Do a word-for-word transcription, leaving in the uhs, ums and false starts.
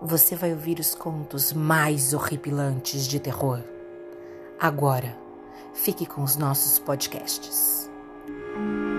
você vai ouvir os contos mais horripilantes de terror. Agora, fique com os nossos podcasts.